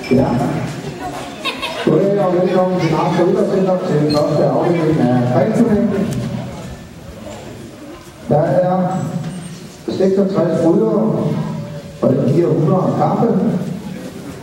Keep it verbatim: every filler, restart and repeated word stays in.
Ja. Goddag og velkommen til Narko Idrætscenter til første afdeling af grensturneringen. Der er seksogtres ryddere, og det giver hundrede kampe.